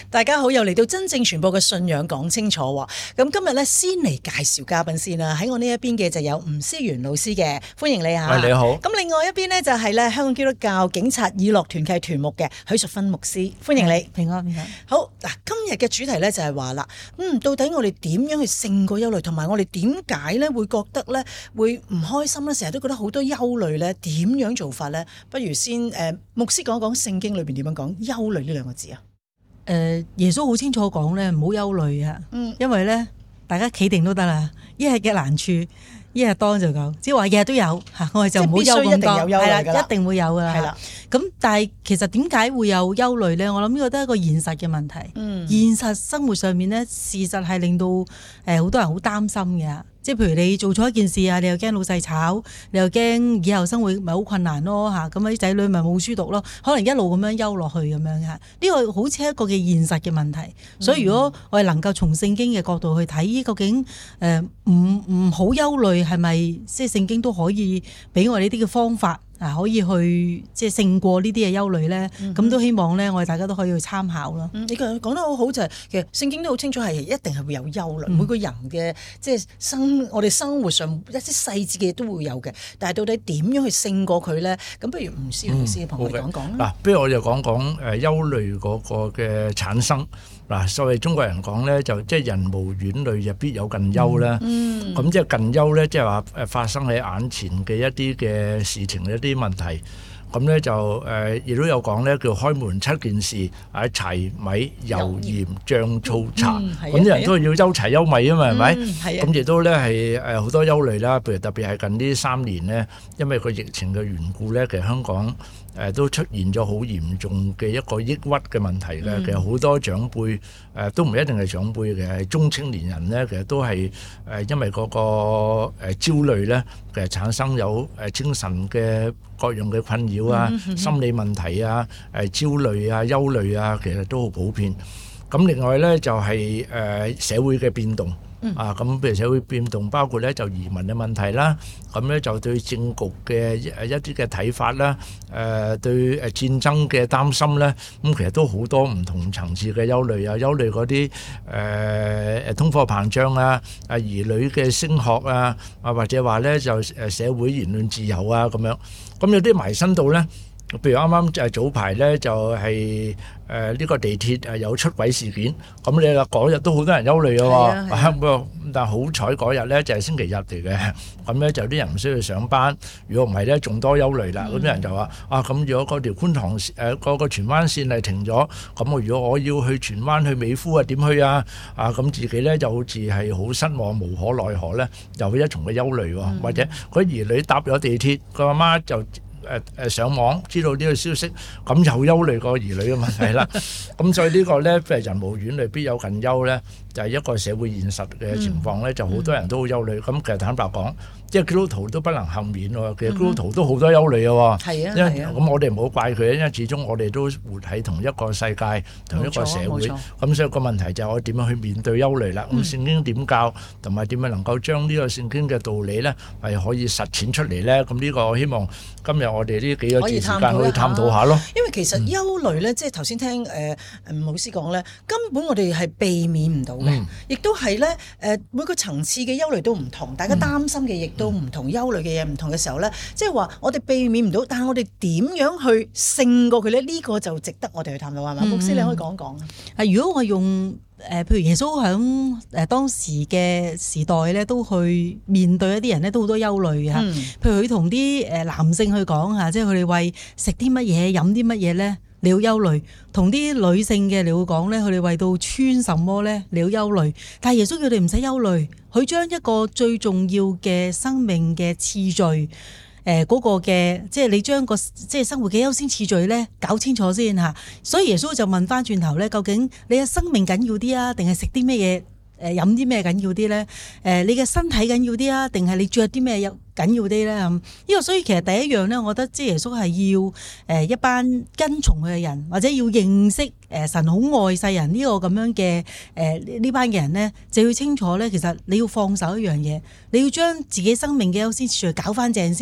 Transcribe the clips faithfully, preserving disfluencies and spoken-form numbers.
大家好，又嚟到真正傳播嘅信仰講清楚。咁今日咧先嚟介紹嘉賓先啦。喺我呢一邊嘅就有吳思源老師嘅，歡迎你啊！ 你好。咁另外一邊呢，就係咧香港基督教警察以樂團契團牧嘅許淑芬牧師，歡迎你。 平安平安。 好嗱，今日嘅主題咧就係話啦，嗯，到底我哋點樣去勝過憂慮，同埋我哋點解咧會覺得咧會唔開心咧？成日都覺得好多憂慮咧，點樣做法咧？不如先誒、呃，牧師講一講聖經裏邊點樣講憂慮呢兩個字啊？ 誒、呃，耶穌好清楚講咧，唔好憂慮啊！嗯，因為咧，大家企定都得啦。一日嘅難處，一日當就夠。只係話日日都有吓，我哋就唔好憂咁多。係啦，一定會有噶啦。係啦。咁但係其實點解會有憂慮咧？我諗呢個都係一個現實嘅問題。嗯。現實生活上面咧，事實係令到誒好多人好擔心嘅。即係譬如你做錯一件事啊，你又驚老細炒，你又驚以後生活咪好困難咯嚇，咁啲仔女咪冇書讀咯，可能一路咁樣憂落去咁樣嘅。呢個好似一個嘅現實嘅問題，嗯、所以如果我哋能夠從聖經嘅角度去睇，究竟誒唔唔好憂慮係咪即係聖經都可以俾我哋呢啲嘅方法？啊，可以去即係勝過呢啲嘅憂慮咧，咁、嗯、都希望咧，我哋大家都可以去參考咯。 嗯，你講得好好就係、是、其實聖經都好清楚係一定係會有憂慮，嗯、每個人嘅即係生我哋生活上一啲細節嘅嘢都會有嘅。但係到底點樣去勝過佢咧？咁不如吳思源老師同我哋講講啦。嗱、 嗯，不如我就講講誒憂慮嗰個嘅產生。嗱，所謂中國人講咧，就即係人無遠慮，就必有近憂啦。嗯，咁即係近憂咧，即係話誒發生喺眼前嘅一啲嘅事情一啲問題。咁咧就誒亦都有講咧，叫開門七件事，啊柴米油鹽醬醋茶。咁啲人都係要憂柴憂米啊嘛，係咪？係啊。咁亦都咧係誒好多憂慮啦。譬如特別係近呢三年咧，因為個疫情嘅緣故咧，其實香港誒都出現咗好嚴重嘅一個抑鬱嘅問題嘅。嗯、其實好多長輩誒都唔一定係長輩嘅，係中青年人咧，其實都係誒因為嗰個誒焦慮咧，其實產生有誒精神嘅各樣嘅困擾啊、嗯嗯、心理問題啊、誒焦慮啊、憂慮啊，其實都好普遍。咁另外咧就係誒社會嘅變動。嗯、啊，咁譬如社會變動，包括咧就移民嘅問題啦，咁咧就對政局嘅一啲嘅睇法啦，誒、呃、對誒戰爭嘅擔心咧，咁其實都好多唔同層次嘅憂慮啊，憂慮嗰啲誒誒通貨膨脹啊，啊兒女嘅升學啊，啊或者話咧就誒社會言論自由啊咁樣，咁有啲埋身到咧。譬如啱啱就係早排咧，就係誒呢個地鐵誒有出軌事件，咁你話嗰日都好多人憂慮嘅喎，不過但係好彩嗰日咧就係星期日嚟嘅，咁咧就啲人唔需要上班，如果唔係咧仲多憂慮啦。咁啲、嗯、人就話啊，咁如果嗰條觀塘誒嗰個荃灣線係停咗，咁我如果我要去荃灣去美孚啊，點去啊？啊咁自己咧就好似係好失望，無可奈何咧，又一重嘅憂慮喎，嗯、或者佢兒女搭咗地鐵，個阿媽就。誒誒上網知道呢個消息，咁又憂慮個兒女嘅問題啦。咁所以呢個咧，譬如人無遠慮，必有近憂咧，就係一個社會現實嘅情況咧，就好多人都好憂慮。咁其實坦白講，即係基督徒都不能幸免喎。其實基督徒都好多憂慮嘅喎。係啊，因為咁我哋唔好怪佢，因為始終我哋都活喺同一個世界、同一個社會。咁所以個問題就係我點樣去面對憂慮啦？咁聖經點教，同埋點樣能夠將呢個聖經嘅道理咧，係可以實踐出嚟咧？咁呢個我希望今日我哋呢幾個字時間可以探討下咯。 因為其實憂慮咧，即係頭先聽誒吳老師講咧，根本我哋係避免唔到嘅，亦都係咧誒每個層次嘅憂慮都唔同，大家擔心嘅亦都唔同，憂慮嘅嘢唔同嘅時候咧，即係話我哋避免唔到，但係我哋點樣去勝過佢咧？呢個就值得我哋去探討，係嘛？牧師你可以講講啊。係如果我用。誒，譬如耶穌喺誒當時嘅時代咧，都去面對一啲人咧，都好多憂慮嘅嚇。嗯、譬如佢同啲誒男性去講嚇，即係佢哋為食啲乜嘢、飲啲乜嘢咧，你要憂慮；同啲女性嘅你會講咧，佢哋為到穿什麼咧，你要憂慮。但係耶穌叫你唔使憂慮，佢將一個最重要嘅生命嘅次序。誒嗰個嘅即係你將個即係生活嘅優先次序咧搞清楚先嚇，所以耶穌就問翻轉頭咧，究竟你嘅生命緊要啲啊，定係食啲咩嘢？誒飲啲咩緊要啲咧？誒你嘅身體緊要啲啊，定係你着啲咩有緊要啲咧？咁呢個所以其實第一樣咧，我覺得即係耶穌係要誒一班跟從佢嘅人，或者要認識誒神好愛世人呢個咁樣嘅誒呢班嘅人咧，就要清楚咧，其實你要放手一樣嘢，你要將自己生命嘅優先次序搞翻正先。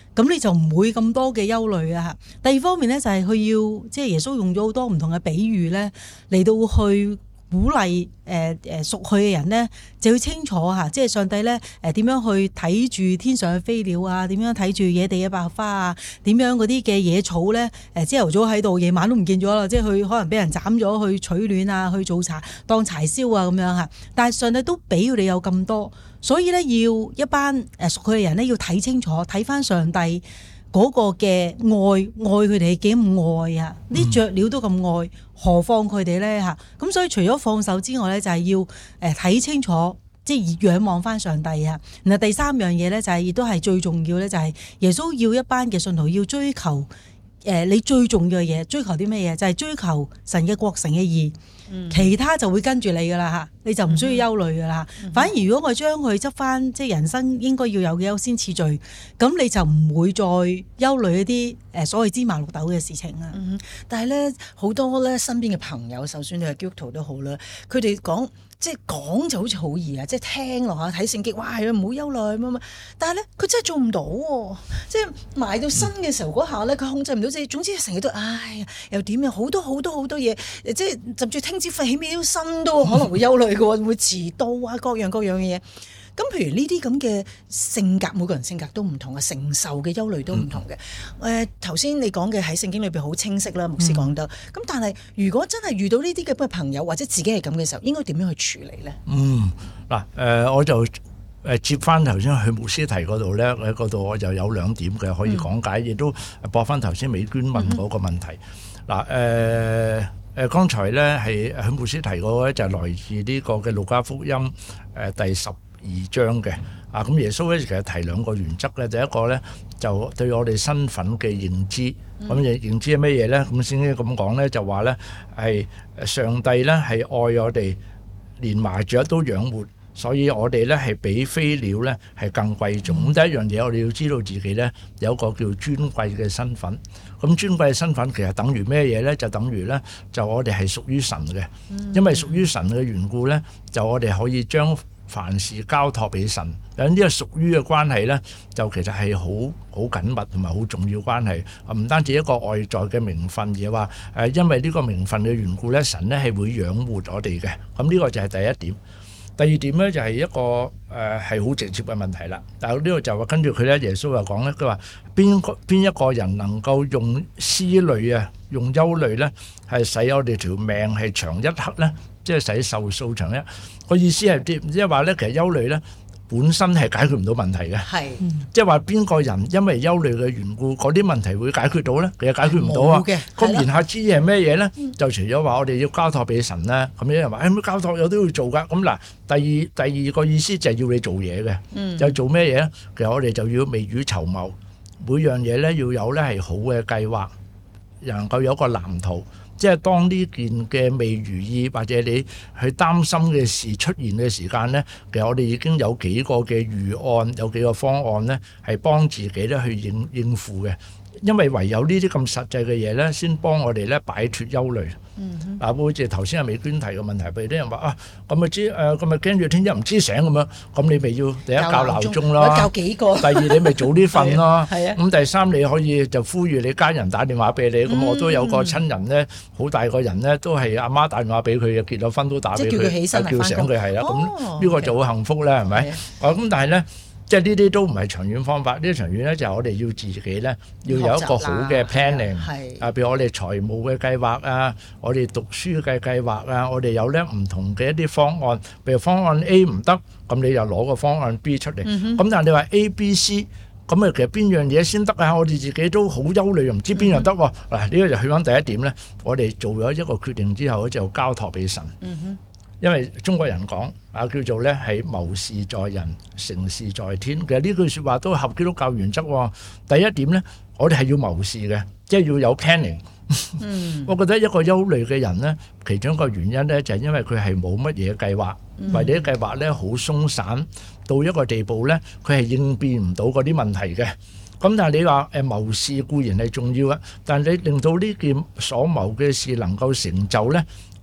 咁你就唔會咁多嘅憂慮啊。第二方面咧就係佢要即係耶穌用咗好多唔同嘅比喻咧嚟到去鼓勵誒誒屬佢嘅人咧，就要清楚嚇，即係上帝咧誒點樣去睇住天上嘅飛鳥啊，點樣睇住野地嘅百合花啊，點樣嗰啲嘅野草咧誒朝頭早喺度，夜晚都唔見咗啦，即係佢可能俾人斬咗去取暖啊，去做柴當柴燒啊咁樣嚇。但係上帝都俾佢哋有咁多，所以咧要一班誒屬佢嘅人咧要睇清楚，睇翻上帝嗰個嘅愛，愛佢哋幾咁愛啊！啲雀鳥都咁愛，何況佢哋咧嚇？咁所以除咗放手之外咧，就係要誒睇清楚，即係仰望翻上帝啊！然後第三樣嘢咧，就係亦都係最重要咧，就係耶穌要一班嘅信徒要追求誒你最重要嘅嘢，追求啲咩嘢？就係追求神嘅國成嘅義。其他就會跟住你噶啦嚇，你就唔需要憂慮噶啦。嗯、反而如果我將佢執翻，即係人生應該要有嘅優先次序，咁你就唔會再憂慮一啲誒所謂芝麻綠豆嘅事情啦、嗯。 但係咧好多咧身邊嘅朋友，就算你係基督徒都好啦，佢哋講即係講就好似好易啊，即係聽落下睇聖經，哇係啊，唔好憂慮乜乜。但係咧佢真係做唔到喎，即係埋到身嘅時候嗰下咧，佢控制唔到自己。總之成日都唉呀，又點啊，好多好多好多嘢，即係甚至聽朝起碼身都可能會憂慮嘅喎，會遲到啊，各樣各樣嘅嘢。咁譬如呢啲咁嘅性格，每個人性格都唔同啊，承受嘅憂慮都唔同嘅。誒頭先你講嘅喺聖經裏邊好清晰啦，牧師講得。咁、嗯、但係如果真係遇到呢啲咁嘅朋友或者自己係咁嘅時候，應該點樣去處理咧？嗯， 嗱、呃、誒，我就誒接翻頭先去牧師提嗰度咧，喺嗰度我就有兩點嘅可以講解，亦、嗯、都駁翻頭先美娟問嗰個問題。嗱、嗯、誒。呃誒，剛才咧係喺牧師提過咧，就係來自呢個嘅路加福音誒第十二章嘅啊。咁耶穌咧其實提兩個原則咧，第一個咧就對我哋身份嘅認知。咁認認知係乜嘢咧？咁先咁講咧，就話咧係上帝咧係愛我哋，連麻雀都養活，所以我哋咧係比飛鳥咧係更貴重。咁、嗯、第一樣嘢，我哋要知道自己咧有一個叫尊貴嘅身份。咁尊貴嘅身份其實等於咩嘢咧？就等於咧就我哋係屬於神嘅，因為屬於神嘅緣故咧，就我哋可以將凡事交託俾神。咁呢個屬於嘅關係咧，就其實係好好緊密同埋好重要關係。唔單止一個外在嘅名分，而係話誒，因為呢個名分嘅緣故咧，神咧係會養活我哋嘅。咁呢個就係第一點。第二點咧就係一個誒係好直接嘅問題啦。但係呢個就話跟住佢咧，耶穌又講咧，佢話邊個邊一個人能夠用思慮啊，用憂慮咧，係使我哋條命係長一刻咧，即係使壽數長一。個意思係啲，即係話咧，其實憂慮咧本身係解決唔到問題嘅，係即係話邊個人因為憂慮嘅緣故，嗰啲問題會解決到咧？其實解決唔到啊。咁言下之意係咩嘢咧？就除咗話我哋要交託俾神啦，咁有人話誒，交託有都要做噶。咁嗱，第二第二個意思就係要你做嘢嘅，嗯、就做咩嘢咧？其實我哋就要未雨綢繆，每樣嘢咧要有咧係好嘅計劃，能夠有一個藍圖。即係當呢件嘅未如意或者你去擔心嘅事出現嘅時間呢，其實我哋已經有幾個嘅預案，有幾個方案呢，係幫自己咧去應應付嘅。因為唯有呢啲咁實際嘅嘢咧，先幫我哋咧擺脫憂慮。嗯，嗱，好似頭先阿美娟提嘅問題，譬如啲人話啊，咁咪知誒，咁咪驚住聽日唔知醒咁樣，咁你咪要第一校鬧鐘咯， 教幾個。 第二你咪早啲瞓咯。 係啊。 咁第三你可以就呼籲你家人打電話俾你。咁、嗯、我都有個親人咧，好大個人咧，都係阿媽打電話俾佢嘅，結咗婚都打俾佢， 叫佢起身叫醒佢係啦。咁呢、哦、個就好幸福啦，係咪？啊，咁但係咧。即係呢啲都唔係長遠方法，呢啲長遠咧就係我哋要自己咧要有一個好嘅 planning，啊，譬如我哋財務嘅計劃啊，我哋讀書嘅計劃啊，我哋有咧唔同嘅一啲方案，譬如方案 A 唔得，咁你就攞個方案 B 出嚟。咁、嗯、但係你話 A、B、C， 咁啊其實邊樣嘢先得啊？我哋自己都好憂慮，又唔知邊樣得喎。嗱，呢個就去翻第一點咧，我哋做咗一個決定之後，就交託俾神。嗯哼。因為中國人講啊，叫做咧係謀事在人，成事在天。其實呢句説話都合基督教原則喎。第一點咧，我哋係要謀事嘅，即係要有 planning。嗯，我覺得一個憂慮嘅人咧，其中一個原因咧就係因為佢係冇乜嘢計劃，或者計劃咧好鬆散，到一個地步咧，佢係應變唔到嗰啲問題嘅。咁但係你話誒謀事固然係重要啊，但係你令到呢件所謀嘅事能夠成就咧，其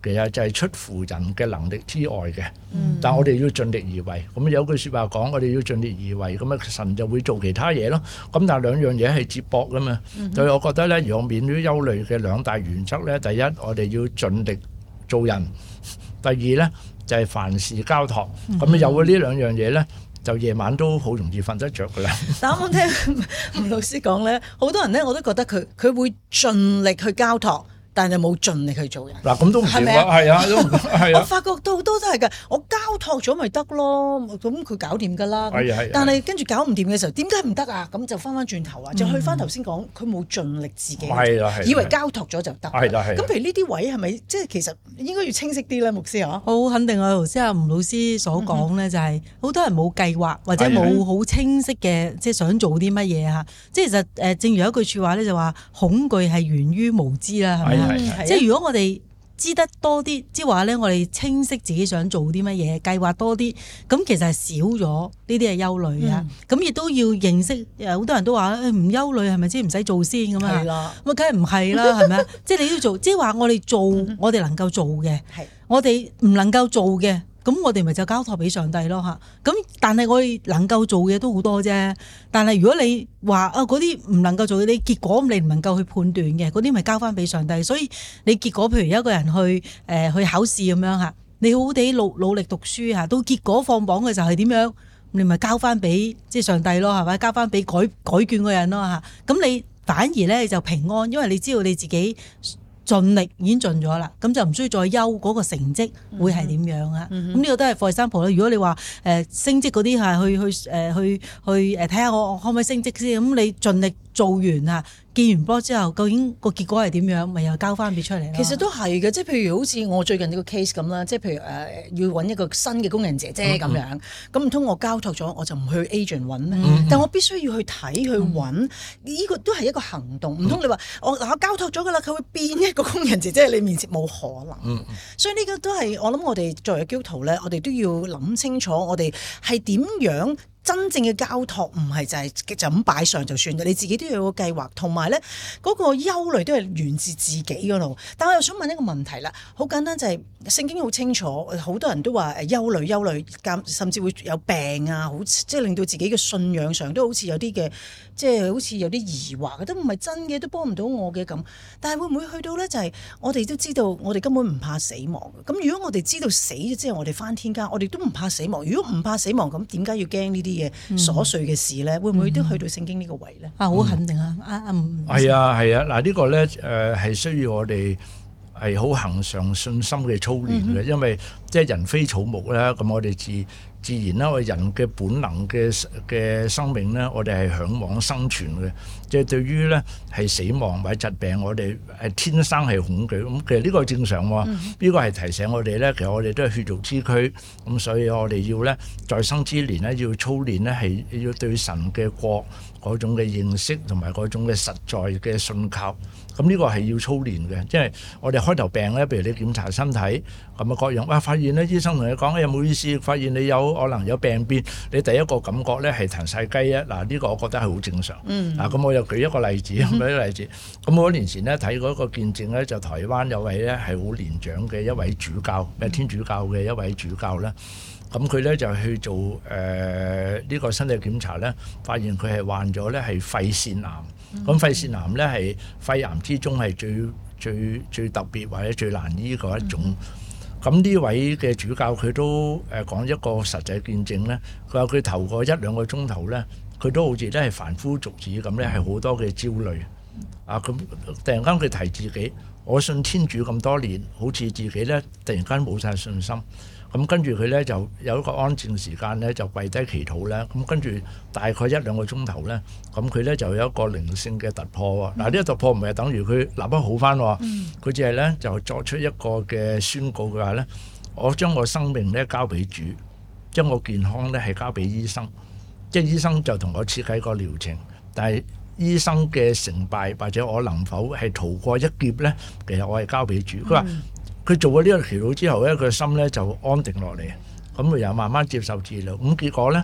其實就係出乎人嘅能力之外嘅，嗯、但係我哋要盡力而為。咁有句説話講，我哋要盡力而為，咁啊神就會做其他嘢咯。咁但係兩樣嘢係接駁噶嘛，嗯、哼所以我覺得咧，如果免於憂慮嘅兩大原則咧，第一我哋要盡力做人，第二咧就係、是、凡事交託。咁、嗯、哼有咗呢兩樣嘢咧，就夜晚都好容易瞓得着噶啦。 但我聽吳老師講咧，好多人咧我都覺得佢佢會盡力去交託。但係冇盡力去做人嗱，咁都唔掂啊！係啊，都係啊！ 我發覺到好多都係㗎，我交託咗咪得咯，咁佢搞掂㗎啦。係啊係啊。但係跟住搞唔掂嘅時候，點解唔得啊？咁就翻翻轉頭啊，就去翻頭先講，佢冇盡力自己， 係啦係， 以為交託咗就得。 係啦係。 咁譬如呢啲位係咪即係其實應該要清晰啲咧，牧師啊？ 好肯定啊！頭先阿吳老師所講咧，就係好多人冇計劃或者冇好清晰嘅，即係想做啲乜嘢嚇。即係其實誒，正如有一句説話咧，就話恐懼係源於無知啦，係咪啊？即係如果我哋知得多啲，即係話咧，我哋清晰自己想做啲乜嘢，計劃多啲，咁其實係少咗呢啲嘅憂慮啊。咁亦、嗯、都要認識，好多人都話唔憂慮係咪先唔使做先咁啊？係啦，咁梗係唔係啦，係咪啊？即係你要做，即係話我哋做，我哋能夠做嘅，係我哋唔能夠做嘅。咁我哋咪就交託俾上帝咯嚇，咁但係我哋能夠做嘅都好多啫。但係如果你話啊嗰啲唔能夠做嘅，你結果你唔能夠去判斷嘅，嗰啲咪交翻俾上帝。所以你結果譬如一個人去誒、呃、去考試咁樣嚇，你好好地努努力讀書嚇，到結果放榜嘅時候係點樣，你咪交翻俾即係上帝咯，係咪？交翻俾改改卷嗰人咯嚇。咁你反而咧就平安，因為你知道你自己盡力已經盡咗啦，咁就唔需要再憂嗰個成績會係點樣啊？咁呢、嗯、個都係 for example 啦。如果你話誒、呃、升職嗰啲係去去誒、呃、去去誒睇下我可唔可以升職先，咁你盡力做完啊，見完波之後，究竟個結果係點樣，咪又交翻俾出嚟咯。 其實都係嘅，即係譬如好似我最近呢個 case 咁啦，即係譬如誒、呃、要揾一個新嘅工人姐姐咁樣，咁唔通我交託咗我就唔去 agent 揾咩？嗯、但我必須要去睇去揾，呢、嗯、個都係一個行動。唔通你話我嗱我交託咗㗎啦，佢會變一個工人姐姐喺你面前，冇可能。嗯、所以呢個都係我諗，我哋作為基督徒咧，我哋都要諗清楚，我哋係點樣。真正嘅交託唔係就係就咁擺上就算，你自己都要有個計劃，同埋咧嗰個憂慮都係源自自己嗰度。但我又想問一個問題啦，好簡單就係、是、聖經好清楚，好多人都話誒憂慮憂慮，甚至會有病啊，好即係令到自己嘅信仰上都好似有啲嘅，即係好似有啲疑惑，都唔係真嘅，都幫唔到我嘅咁。但係會唔會去到咧？就係、是、我哋都知道，我哋根本唔怕死亡。咁如果我哋知道死咗之後，我哋返天家，我哋都唔怕死亡。如果唔怕死亡，咁點解要驚呢啲？嘅瑣碎嘅事咧，會唔會都去到聖經呢個位咧？啊，好肯定啊！啊啊， 係啊係啊，嗱呢個咧誒係需要我哋係好恆常信心嘅操練嘅，因為即係人非草木啦，咁我哋自自然啦，我哋人嘅本能嘅嘅生命咧，我哋係嚮往生存嘅，即係對於咧係死亡或者疾病，我哋係天生係恐懼。咁其實呢個係正常喎，呢、嗯、個係提醒我哋咧，其實我哋都係血肉之軀，咁所以我哋要咧在生之年咧要操練咧係要對神嘅國嗰種嘅認識同埋嗰種嘅實在嘅信靠。咁呢個係要操練嘅，即係我哋開頭病咧，譬如你檢查身體咁啊各樣，哇發現咧醫生同你講有冇意思，發現你有可能有病變，你第一個感覺咧係騰晒雞啊！嗱呢個我覺得係好正常。嗯。嗱咁我又舉一個例子，舉一個例子。咁好多年前咧睇過一個見證咧，就台灣有位咧係好年長嘅一位主教，係天主教嘅一位主教咧。咁佢咧就去做誒呢、呃這個身體檢查咧，發現佢係患咗咧係肺腺癌。咁、嗯、肺腺癌咧係肺癌之中係最最最特別或者最難醫嗰一種。咁呢、嗯、位嘅主教佢都誒講一個實際見證咧，佢話佢頭個一兩個鐘頭咧，佢都好似咧係凡夫俗子咁咧，係好多嘅焦慮。啊咁突然間佢提自己，我信天主咁多年，好似自己咧突然間冇晒信心。咁跟住佢咧就有一個安靜時間咧，就跪低祈禱咧。咁跟住大概一兩個鐘頭咧，咁佢咧就有一個靈性嘅突破喎。嗱、嗯，呢個突破唔係等於佢立刻好翻喎，佢只係咧就作出一個嘅宣告嘅話咧，我將我生命咧交俾主，將我健康咧係交俾醫生，即係醫生就同我設計個療程，但係醫生嘅成敗或者我能否係逃過一劫咧，其實我係交俾主。佢話。佢做咗呢個祈禱之後咧，佢心咧就安定落嚟，咁佢又慢慢接受治療。咁結果咧，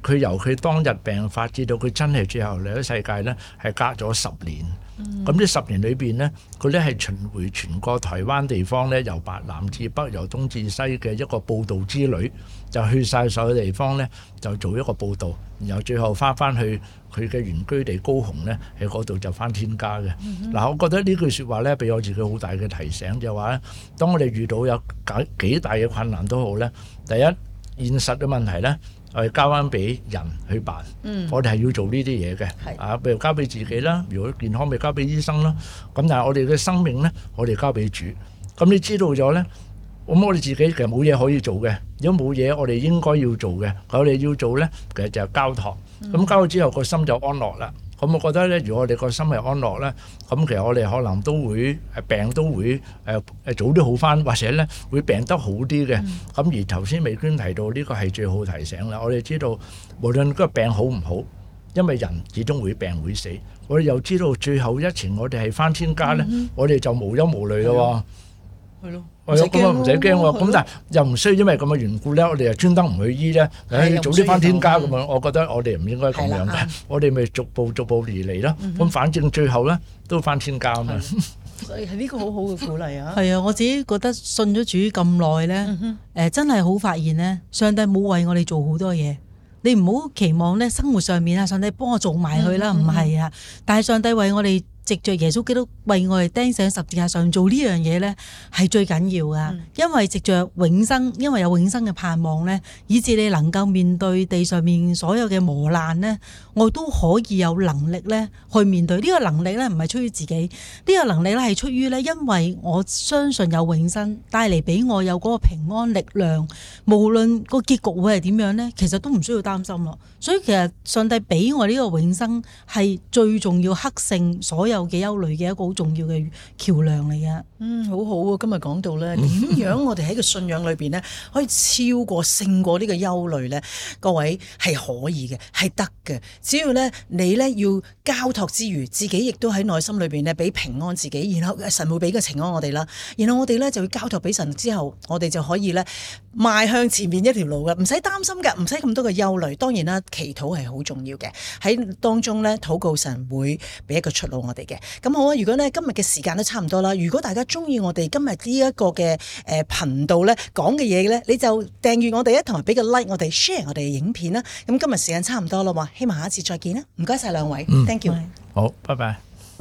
佢由佢當日病發至到佢真係最後嚟咗世界咧，係隔咗十年。咁呢、嗯、十年裏邊呢，佢咧係巡迴全個台灣地方咧，由白南至北，由東至西嘅一個報道之旅，就去晒所有地方咧，就做一個報道，然後最後翻翻去佢嘅原居地高雄咧，喺嗰度就翻天家嘅。嗱、嗯哼，我覺得呢句説話咧，俾我自己好大嘅提醒，就係話咧，當我哋遇到有幾幾大嘅困難都好咧，第一現實嘅問題咧。我哋交翻俾人去辦，嗯、我哋係要做呢啲嘢嘅，是啊，譬如交俾自己啦，如果健康咪交俾醫生啦，咁但係我哋嘅生命咧，我哋交俾主。咁你知道咗咧，咁我哋自己其實冇嘢可以做嘅，如果冇嘢我哋應該要做嘅，我哋要做咧，其實就係交託。咁、嗯、交咗之後個心就安樂啦。咁我覺得咧，如果我哋個心係安樂咧，咁其實我哋可能都會病都會誒誒早啲好返，或者咧會病得好啲嘅。咁、嗯、而頭先美娟提到呢個係最好提醒啦。我哋知道無論嗰個病好唔好，因為人始終會病會死。我哋又知道最後一程我哋係返天家咧，嗯、我哋就無憂無慮咯。係咯。係啊，咁啊唔使驚喎，咁但係又唔需要因為咁嘅緣故咧，我哋就專登唔去醫咧，誒早啲翻天家咁樣，我覺得我哋唔應該咁樣嘅，我哋咪逐步逐步而嚟咯。咁反正最後咧都翻天家啊嘛。 所以係呢個好好嘅鼓勵啊。 係啊，我自己覺得信咗主咁耐咧，誒真係好發現咧，上帝冇為我哋做好多嘢。你唔好期望咧生活上面啊，上帝幫我做埋去啦，唔係啊，但係上帝為我哋。藉着耶穌基督為我哋釘上十字架上做呢樣嘢呢，係最緊要噶。嗯、因為藉着永生，因為有永生嘅盼望呢，以致你能夠面對地上面所有嘅磨難呢，我都可以有能力呢去面對。呢、這個能力呢，唔係出於自己，呢、這個能力呢係出於呢，因為我相信有永生帶嚟俾我有嗰個平安力量。無論個結局會係點樣呢，其實都唔需要擔心咯。所以其實上帝俾我呢個永生係最重要，克勝所有嘅憂慮嘅一個好重要嘅橋樑嚟嘅。 嗯，好好啊！今日講到咧，點樣我哋喺個信仰裏邊咧，可以超過勝過呢個憂慮咧？各位係可以嘅，係得嘅。只要咧你咧要交託之餘，自己亦都喺內心裏邊咧俾平安自己，然後神會俾個平安我哋啦。然後我哋咧就要交託俾神之後，我哋就可以咧邁向前面一條路嘅，唔使擔心嘅，唔使咁多嘅憂慮。當然啦，祈禱係好重要嘅，喺當中咧禱告神會俾一個出路我哋嘅。咁好啊！如果咧今日嘅時間都差唔多啦，如果大家中意我哋今日呢一個嘅誒頻道咧講嘅嘢咧，你就訂閱我哋一同埋俾個 like 我哋 share 我哋嘅影片啦。咁今日時間差唔多啦，希望下一次再見啦！唔該晒兩位，嗯，thank you， 好，拜拜。